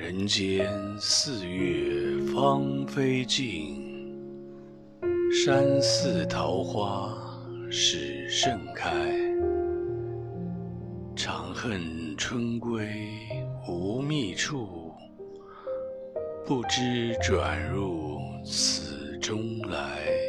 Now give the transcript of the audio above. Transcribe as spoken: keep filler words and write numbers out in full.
人间四月芳菲尽，山寺桃花始盛开。长恨春归无觅处，不知转入此中来。